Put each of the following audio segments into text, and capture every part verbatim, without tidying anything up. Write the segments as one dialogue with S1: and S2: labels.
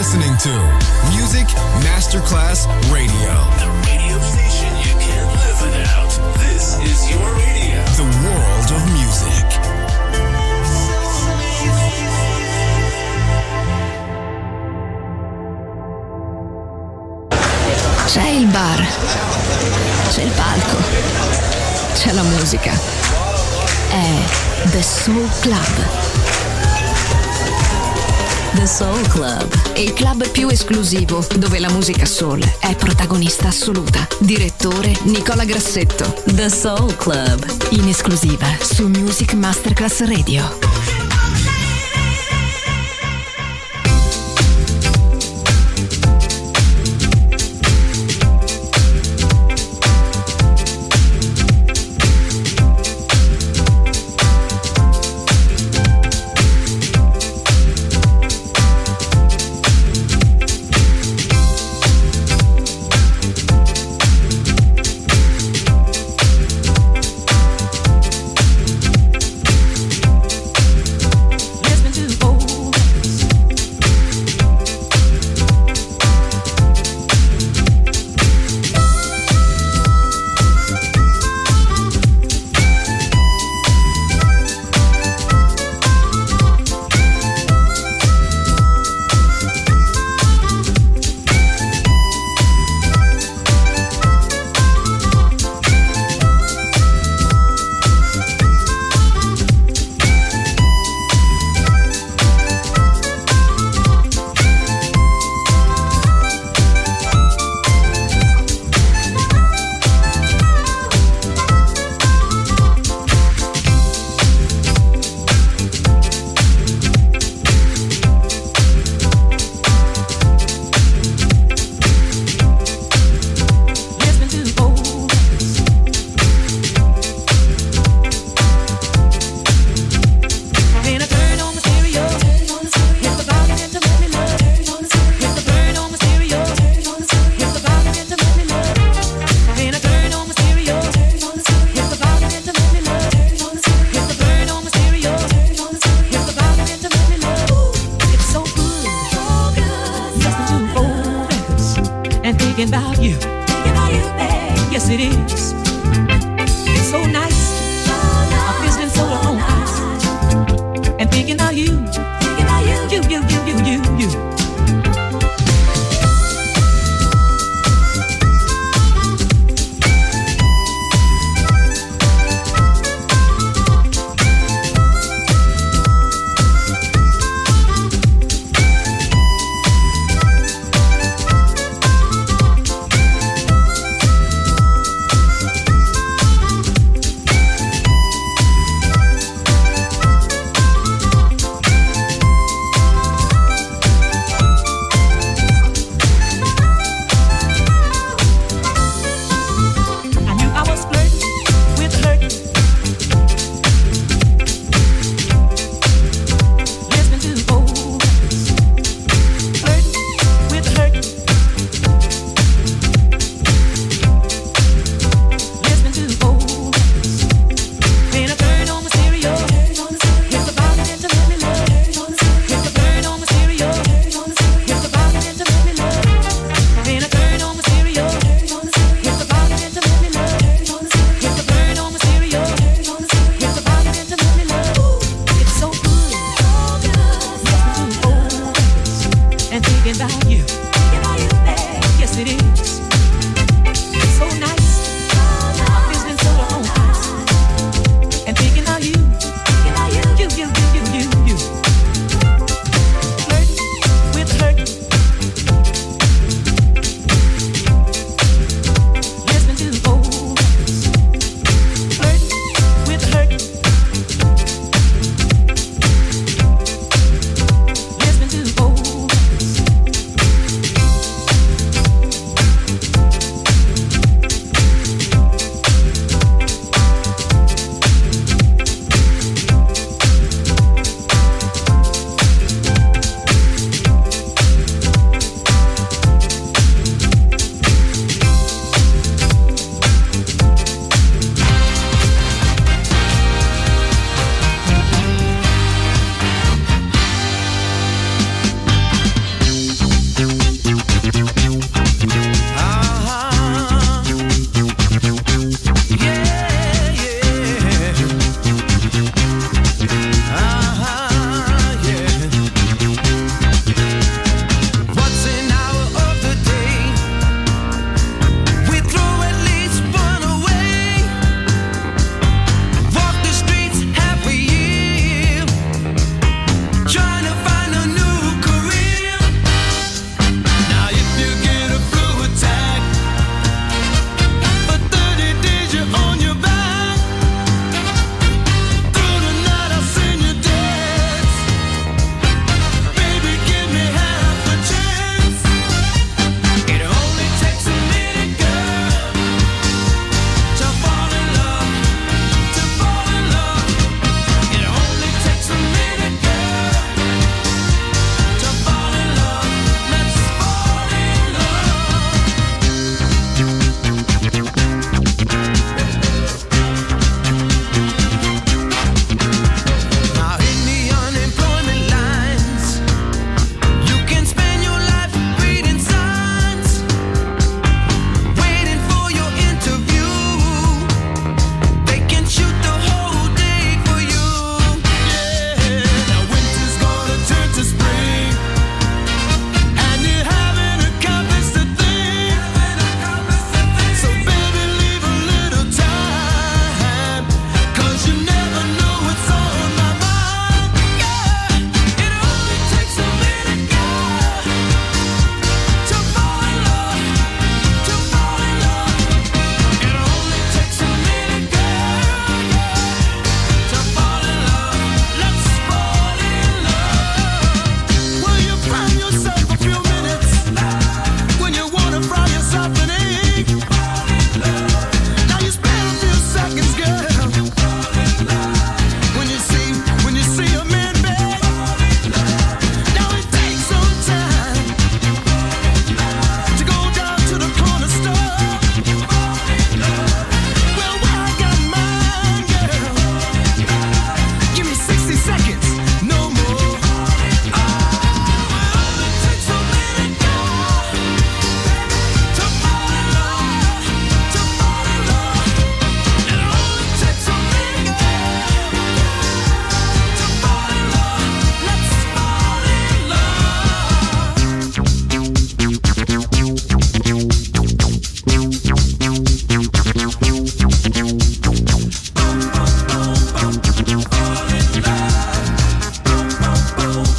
S1: listening to Music Masterclass Radio.
S2: The radio station you can't live without. This is your radio.
S1: The world of music.
S3: C'è il bar, c'è il palco, c'è la musica. È The Soul Club. The Soul Club, il club più esclusivo dove la musica soul è protagonista assoluta. Direttore Nicola Grassetto. The Soul Club, in esclusiva su Music Masterclass Radio.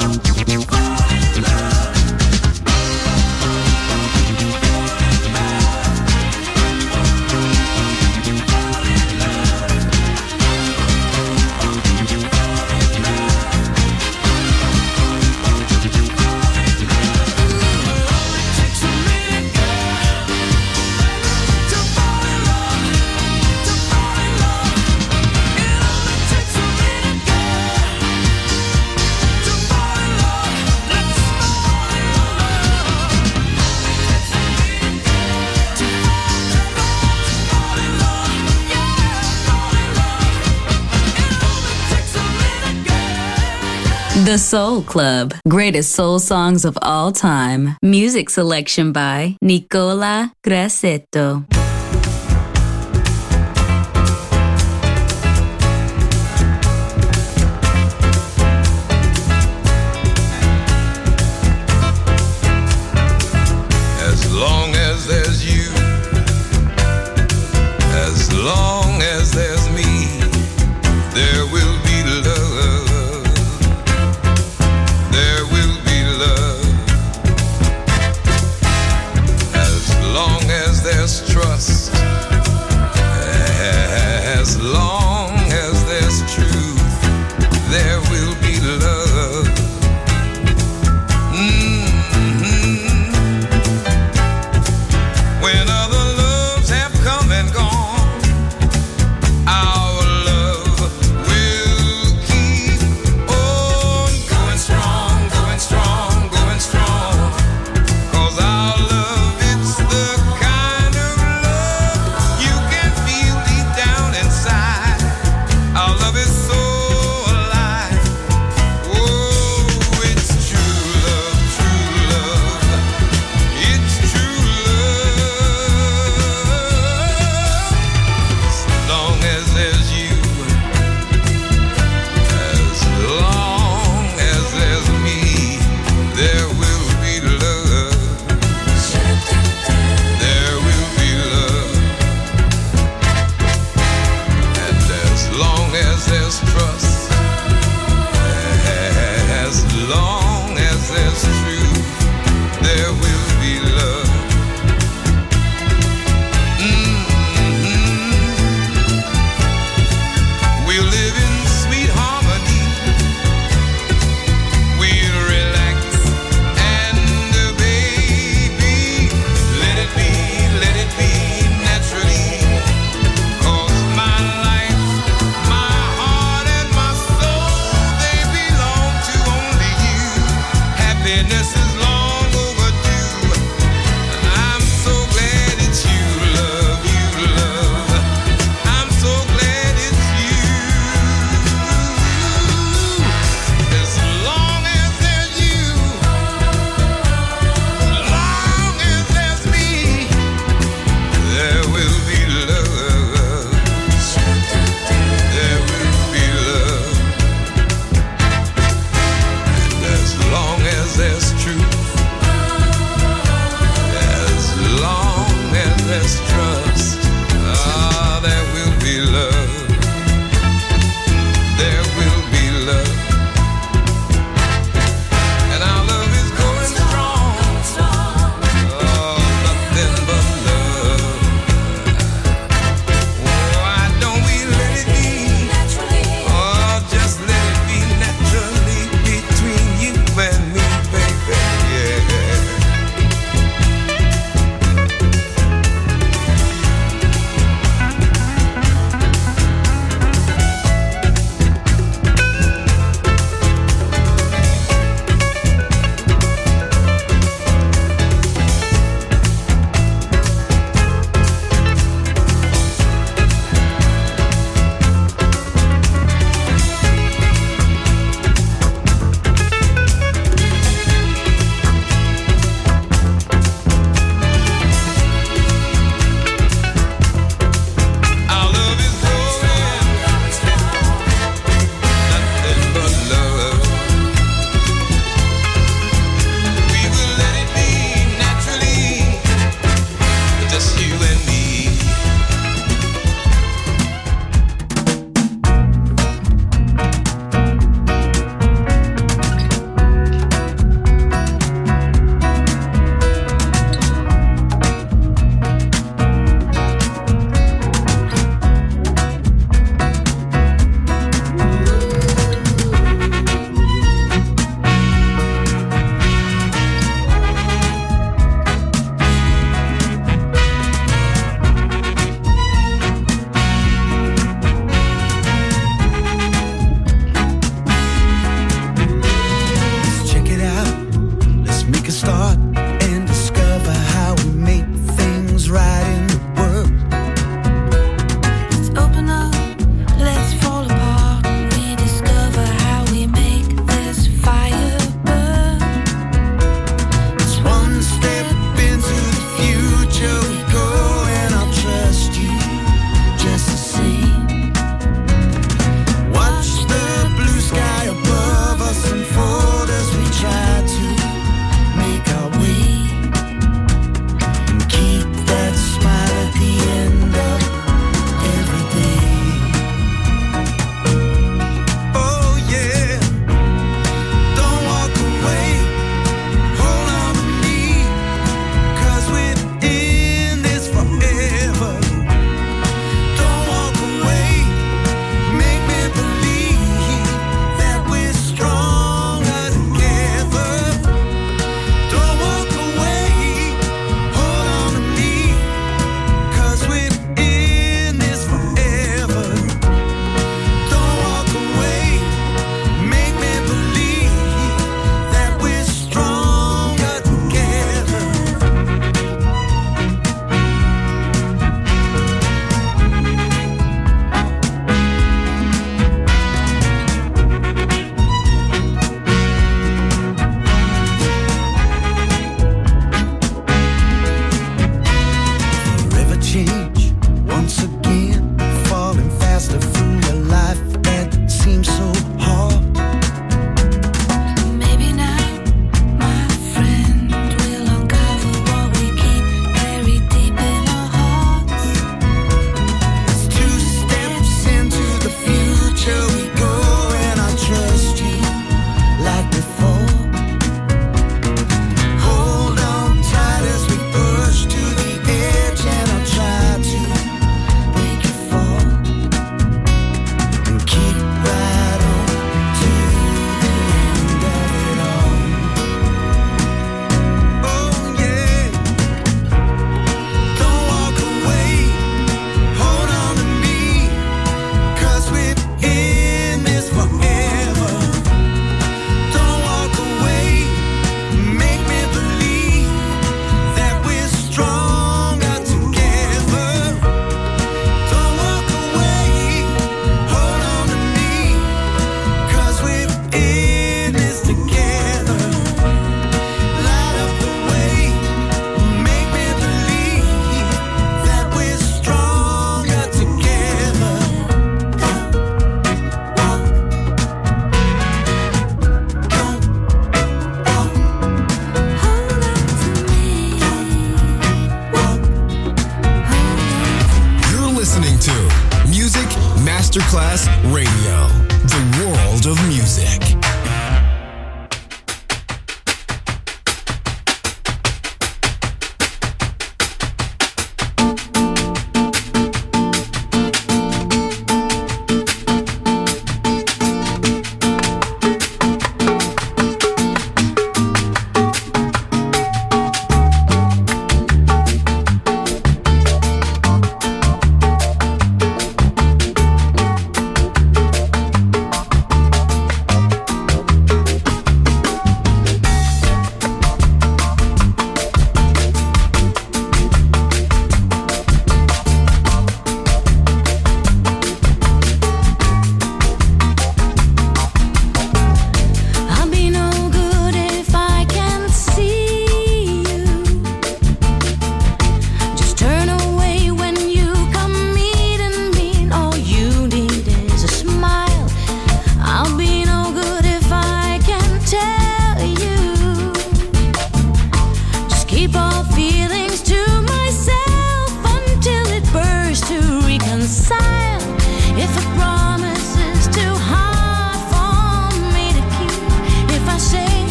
S3: The Soul Club. Greatest soul songs of all time. Music selection by Nicola Grassetto.
S4: As long as there's you, as long as there's me, there will be love. There will be love. As long as there's trust,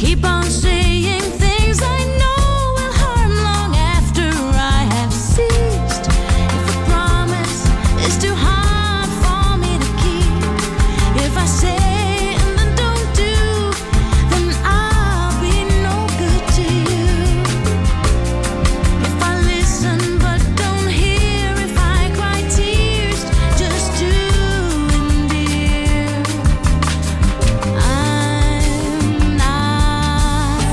S5: keep on saying things I know will harm long after I have ceased. If a promise is too hard for me to keep, if I say and then don't do, then I'll be no good to you. If I listen but don't hear, if I cry tears just to endear, I'm not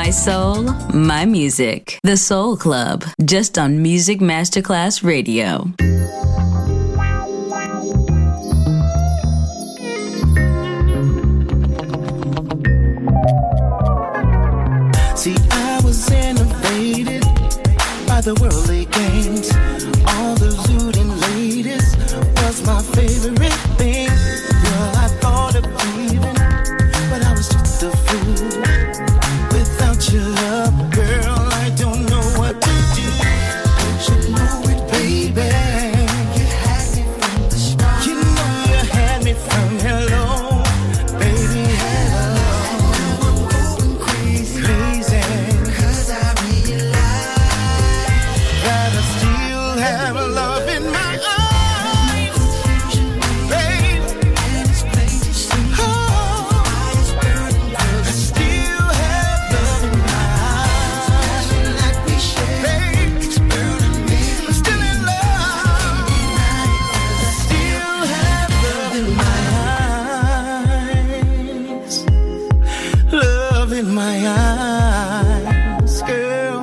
S6: My soul, my music. The Soul Club, just on Music Masterclass Radio.
S7: See, I was innovated by the worldly games. All the looting ladies was my favorite thing. Girl, I thought of leaving, but I was just a fool. Without your love, girl, I don't know what to do. Don't you know it, baby? You had me from the start. You know you had me from hello, baby, hello. I'm going crazy, crazy, 'cause I realize that I still have love in my eyes, babe. And it's plain to see. Oh, I still have love in my eyes. Like we share, babe. It's burning me. I'm still in love. I still have love in my eyes. Love in my eyes, girl.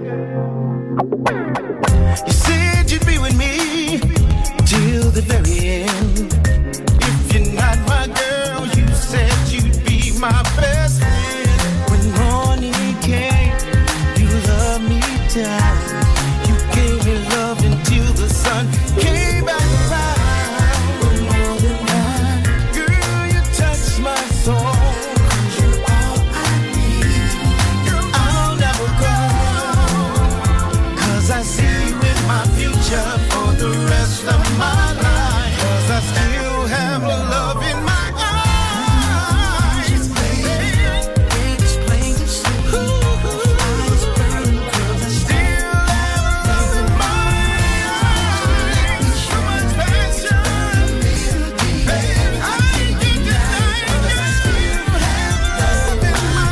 S7: You said you'd be with me till the very end. If you're not my girl, you said you'd be my best friend. When morning came, you loved me down. You gave me love until the sun came back around. But more than that, girl, you touched my soul. 'Cause you're all I need. I'll never go, 'cause I see you in my future for the rest of my life. 'Cause I still have love in my eyes, baby. It's plain to see. Eyes burn, 'cause I still have love in my eyes. So much passion, baby. I can't deny it. I still have love in my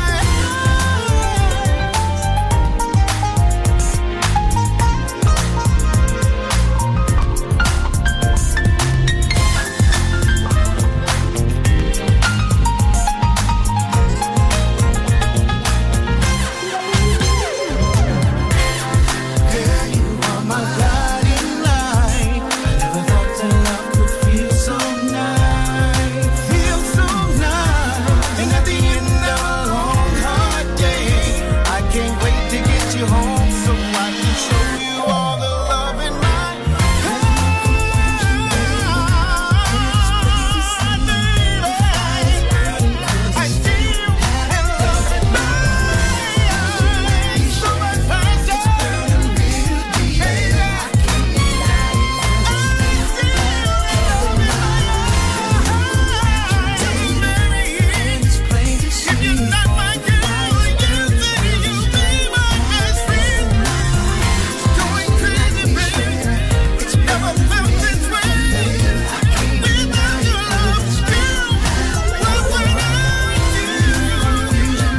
S7: Girl, you are my guiding light. I never thought that love could feel so nice, feel so nice. And at the end of a long, hard day, I can't wait to get you home so I can show you all the love in my I still have love in my eyes. So much passion, baby. I can't deny it. I still have love in my eyes. It's plain to see. If you're not my girl, you say you'll be my best friend. Going crazy, baby. It's never felt this way. Without your love, girl, what would I do without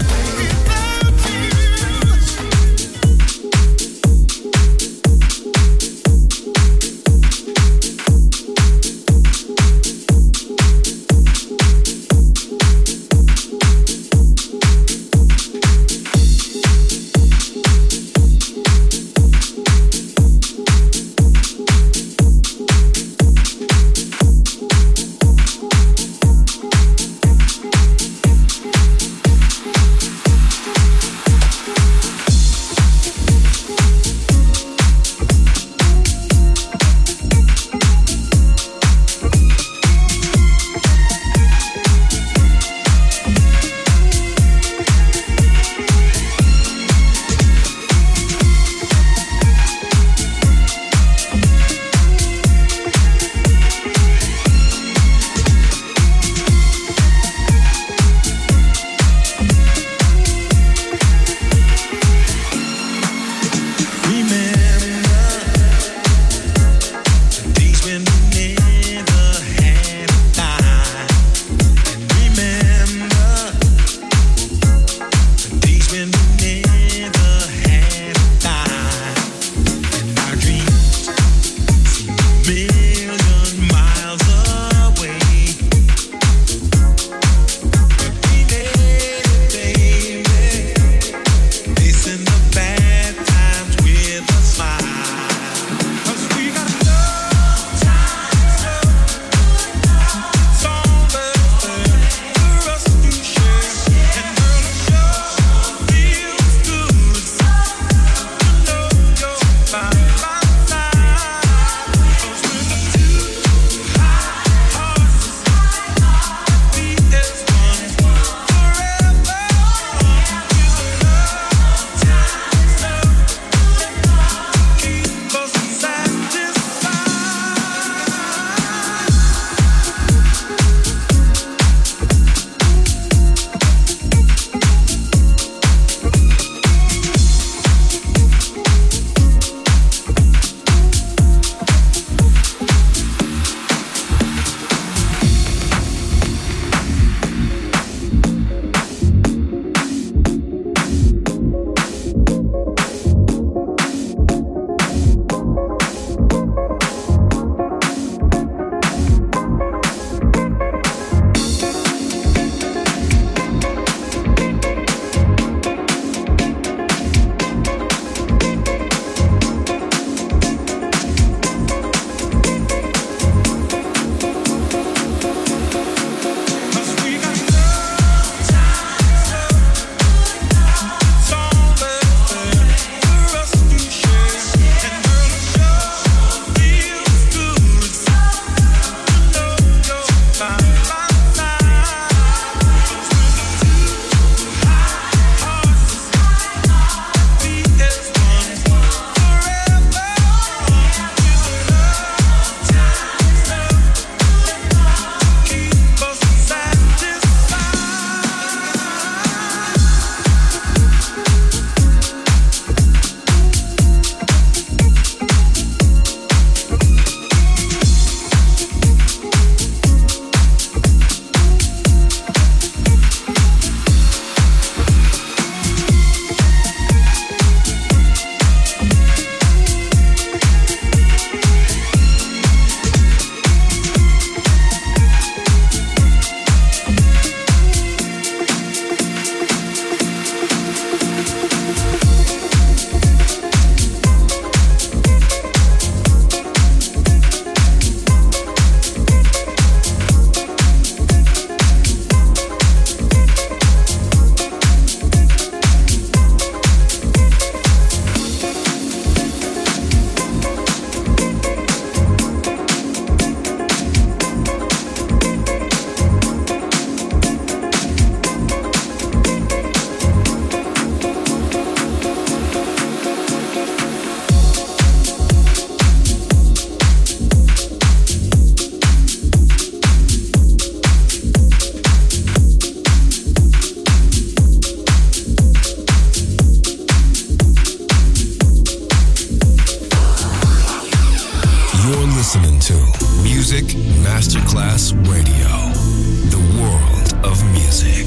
S1: listening to Music Masterclass Radio, the world of music.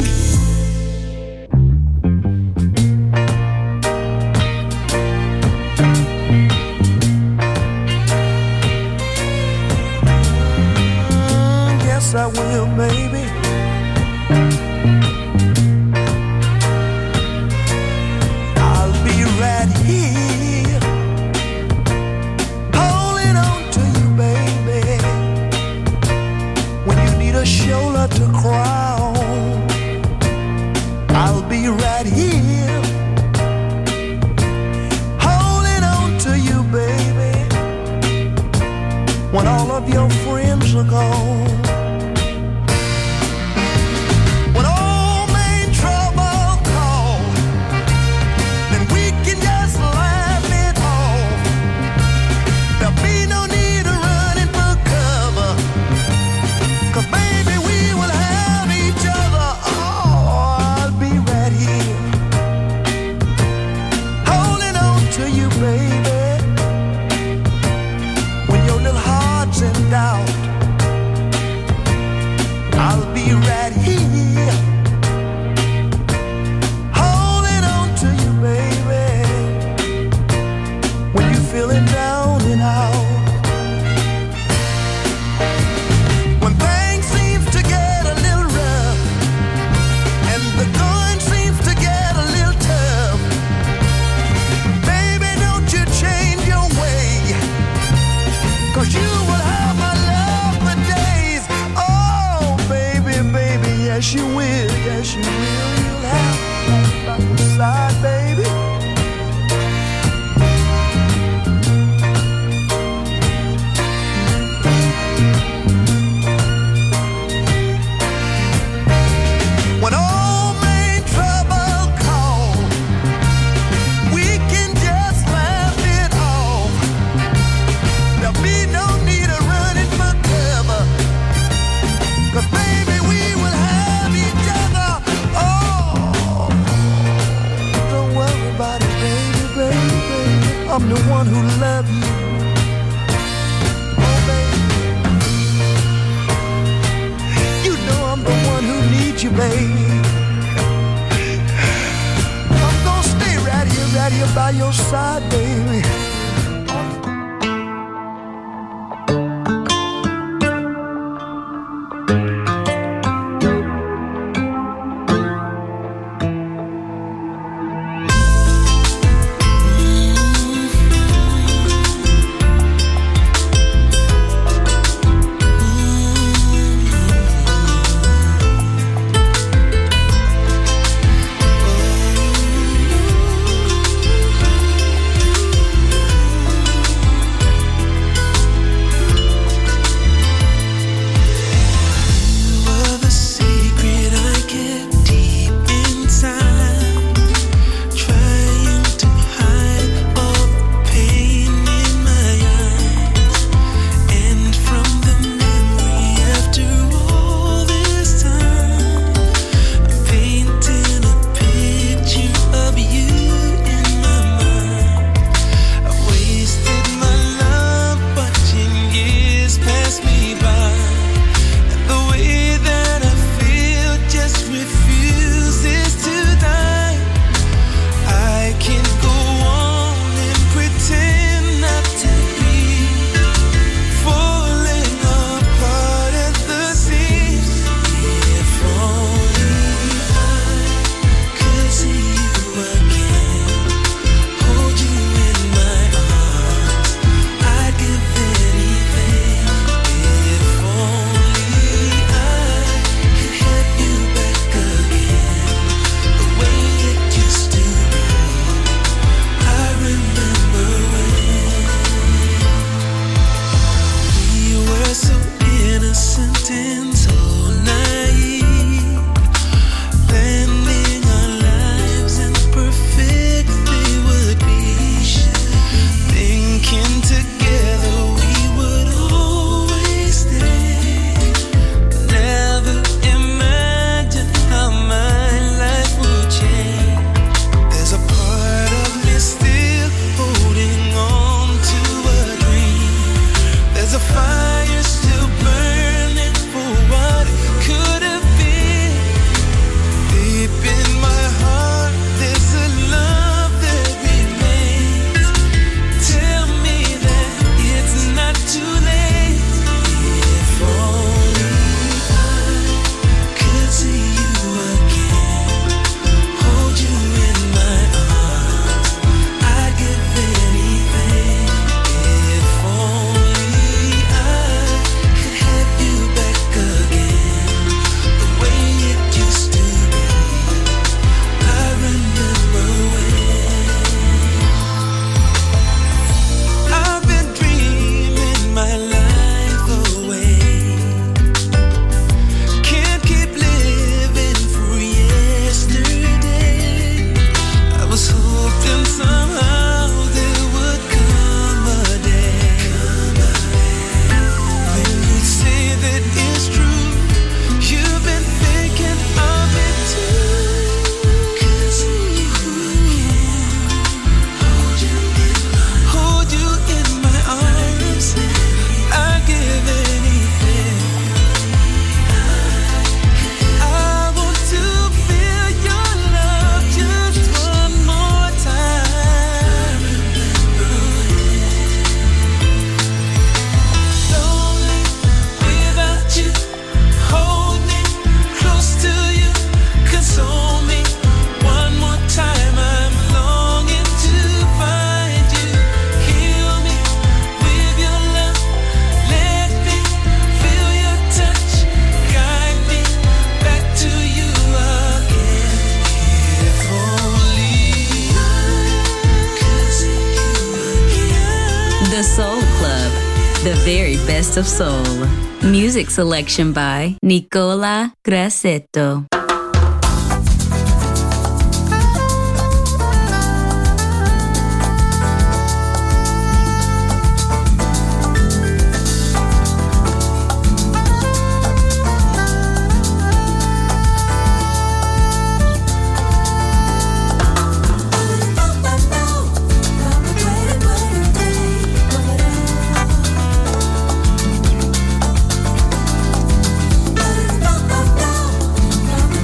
S7: Yes, I will, baby. I'll be right here, holding on to you, baby. When you need a shoulder to cry on, I'll be right here, holding on to you, baby. When all of your friends are gone, doubt, I'll be right here, holding on to you, baby. When you're feeling down and out, when things seem to get a little rough and the going seems to get a little tough, baby, don't you change your way, 'cause you will have yes, you will, yes, you will. You'll have me by your side, baby. When all main trouble calls, we can just laugh it off. There'll be no need of running for cover, 'cause baby, we will have each other. Oh, don't worry about it, baby, baby, baby. I'm the one who loves you. Oh, baby, you know I'm the one who needs you, baby. I'm gonna stay right here, right here by your side, baby.
S6: The Soul Club, the very best of soul. Music selection by Nicola Grassetto.
S5: Bye.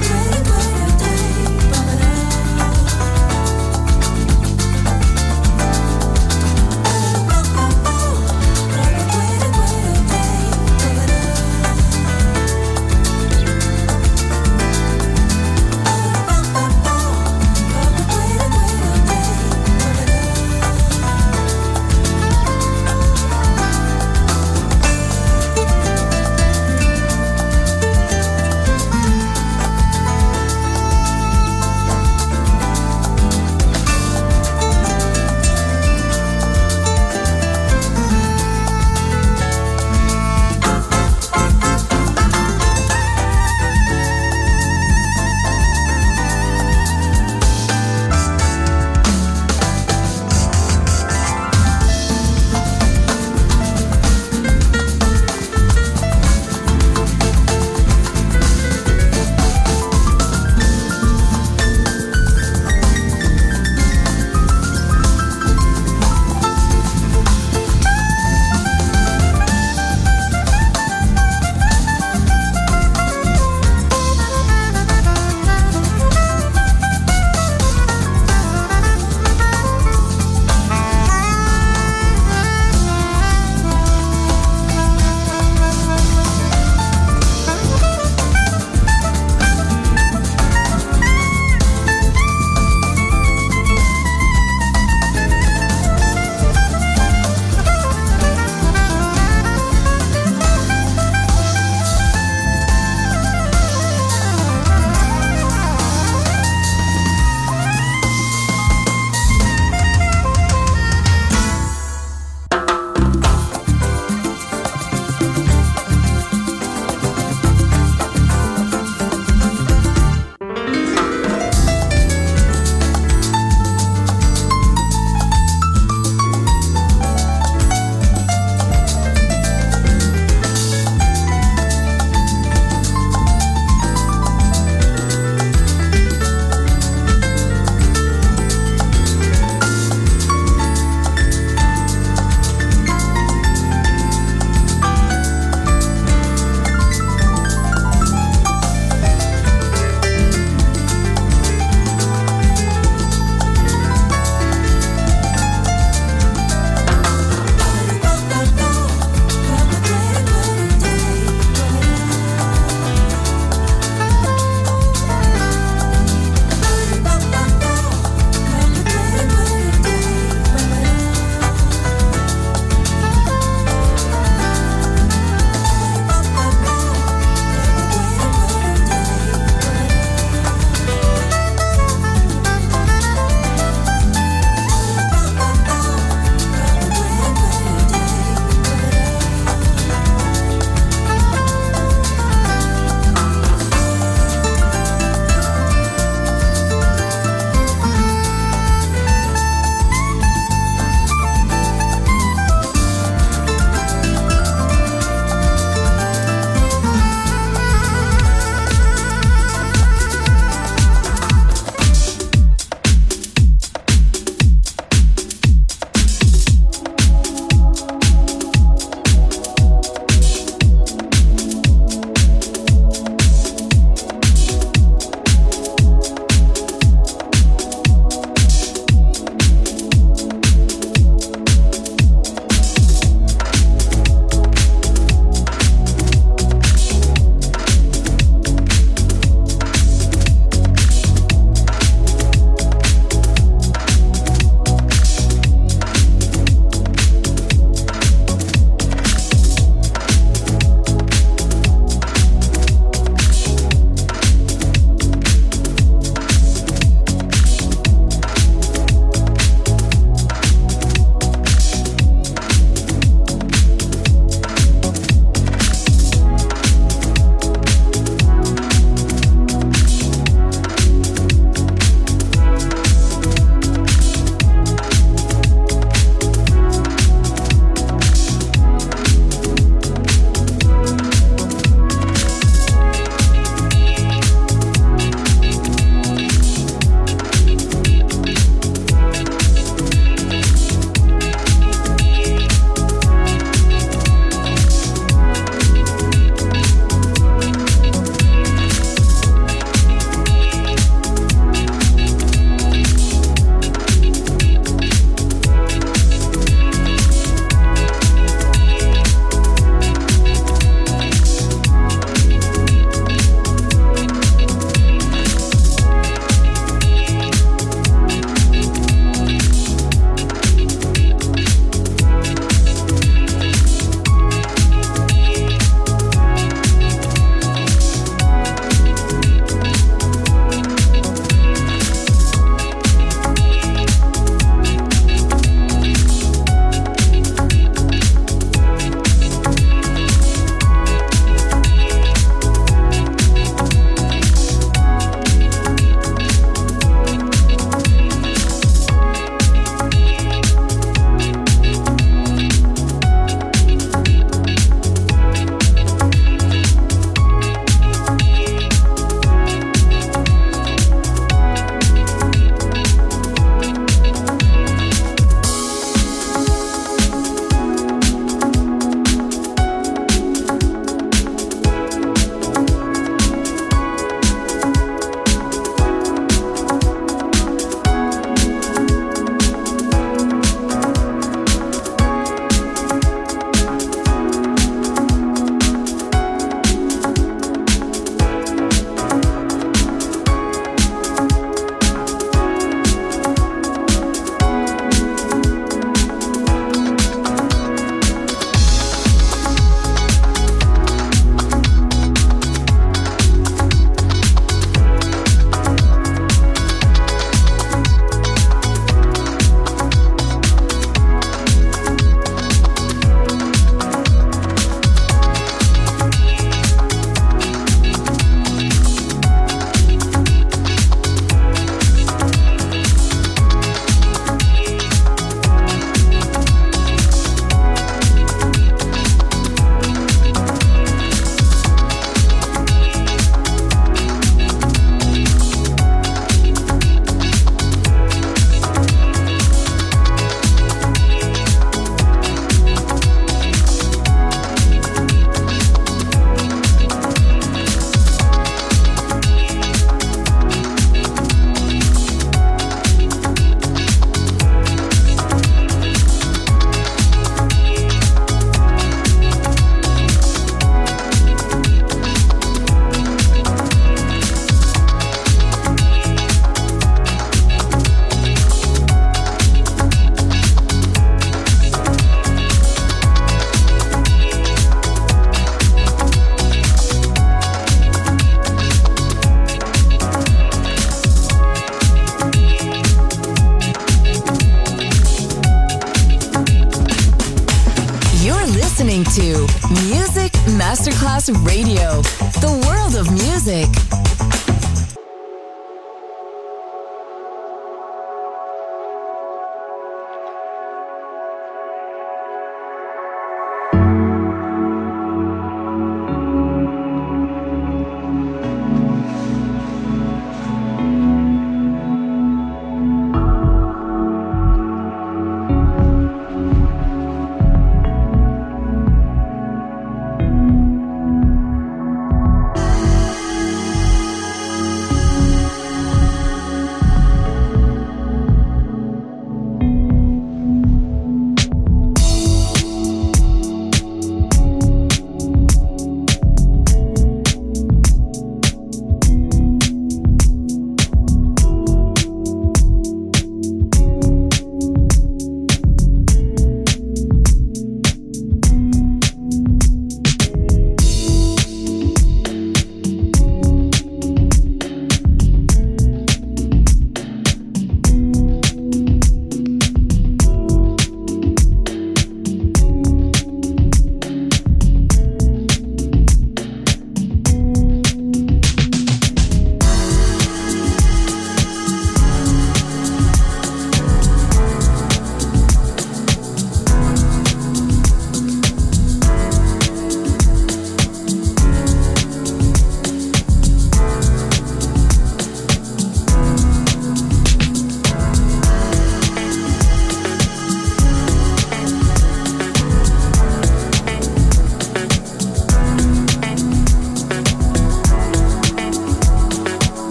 S8: listening to Music Masterclass Radio, the world of music.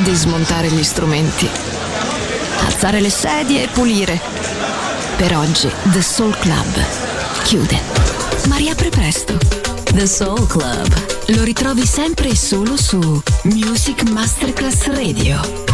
S3: di smontare gli strumenti, alzare le sedie e pulire. Per oggi The Soul Club chiude, ma riapre presto.
S6: The Soul Club.
S3: Lo ritrovi sempre e solo su Music Masterclass Radio.